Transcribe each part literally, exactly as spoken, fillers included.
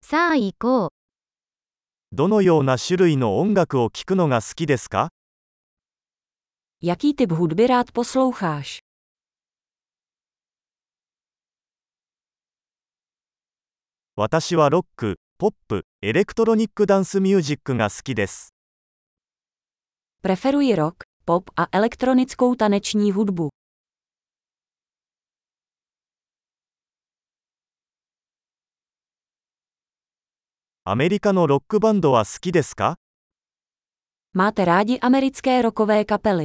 さあ行こう。 どのような種類の音楽を聴くのが好きですか？ Jaký typ hudby rád posloucháš? 私はロック、ポップ、エレクトロニックダンスミュージックが好きです。 Preferuji rock, pop a elektronickou taneční hudbu. アメリカのロックバンドは好きですか？ Máte rádi americké rockové kapely?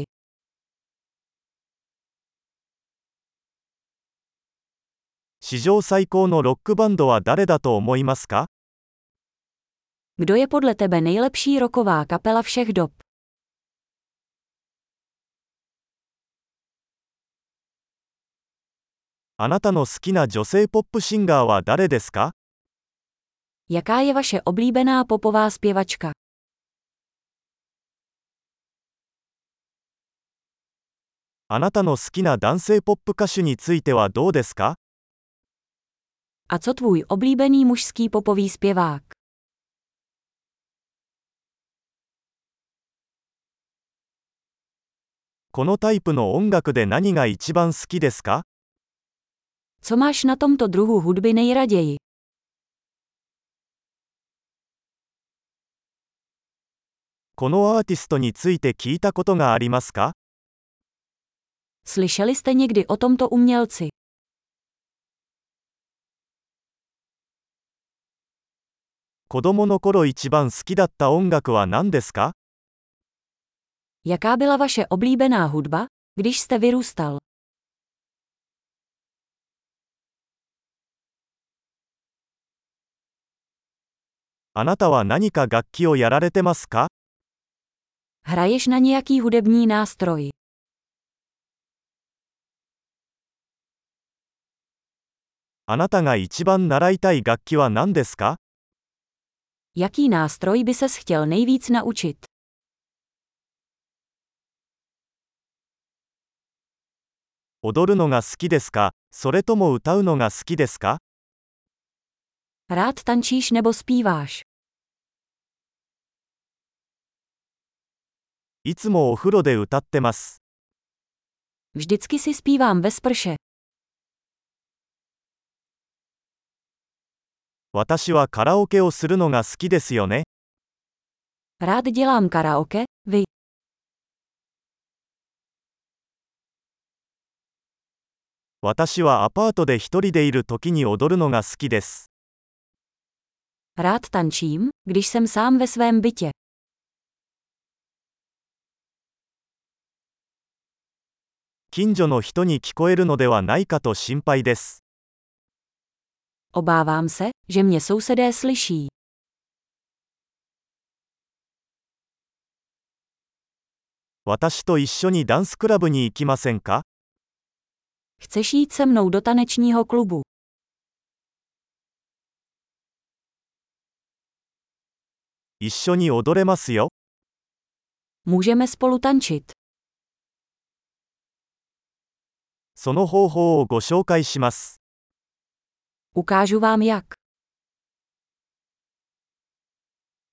史上最高のロックバンドは誰だと思いますか？ Kdo je podle tebe nejlepší rocková kapela všech dob? あなたの好きな女性ポップシンガーは誰ですか？ Jaká je vaše oblíbená popová zpěvačka? あなたの好きな男性ポップ歌手についてはどうですか？ A co tvůj oblíbený mužský popový zpěvák? このタイプの音楽で何が一番好きですか？ Co máš na tomto druhu hudby nejraději? このアーティストについて聞いたことがありますか？ Slyšeli jste někdy o tomto umělci? 子供の頃一番好きだった音楽は何ですか？ Jaká byla vaše oblíbená hudba, když jste vyrůstal? あなたは何か楽器をやられてますか？ Hraješ na nějaký hudební nástroj? あなたが一番習いたい楽器は何ですか？ Jaký nástroj by ses chtěl nejvíc naučit? 踊るのが好きですか？それとも歌うのが好きですか？ Rád tančíš nebo zpíváš? いつもお風呂で歌ってます。 Vždycky si zpívám ve sprše. 私はカラオケをするのが好きですよね。 Rád dělám karaoke, vy? 私はアパートで一人でいる時に踊るのが好きです。 Rád tančím, když jsem sám ve svém bytě. 近所の人に聞こえるのではないかと心配です。 Obávám se, že mě sousedé slyší. 私と一緒にダンスクラブに行きませんか？ Chceš jít se mnou do tanečního klubu? 一緒に踊れますよ。 Můžeme spolu tančit. その方法をご紹介します。 Ukážu vám jak.